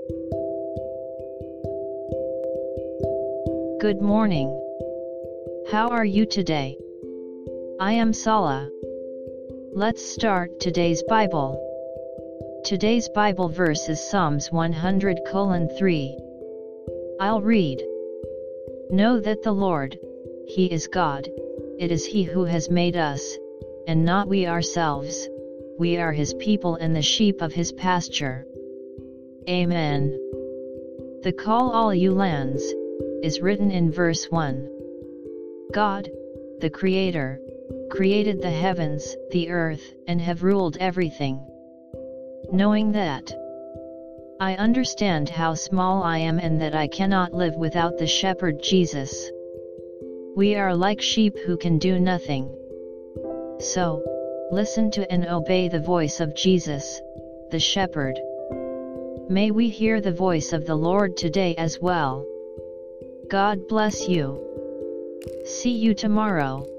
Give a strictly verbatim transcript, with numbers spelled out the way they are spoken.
Good morning. How are you today? I am Sala. Let's start today's Bible. Today's Bible verse is Psalms one hundred colon three. I'll read. Know that the Lord, He is God, it is He who has made us, and not we ourselves, we are His people and the sheep of His pasture. Amen. The call all you lands, is written in verse one. God, the Creator, created the heavens, the earth, and have ruled everything. Knowing that, I understand how small I am and that I cannot live without the Shepherd Jesus. We are like sheep who can do nothing. So, listen to and obey the voice of Jesus, the Shepherd. May we hear the voice of the Lord today as well. God bless you. See you tomorrow.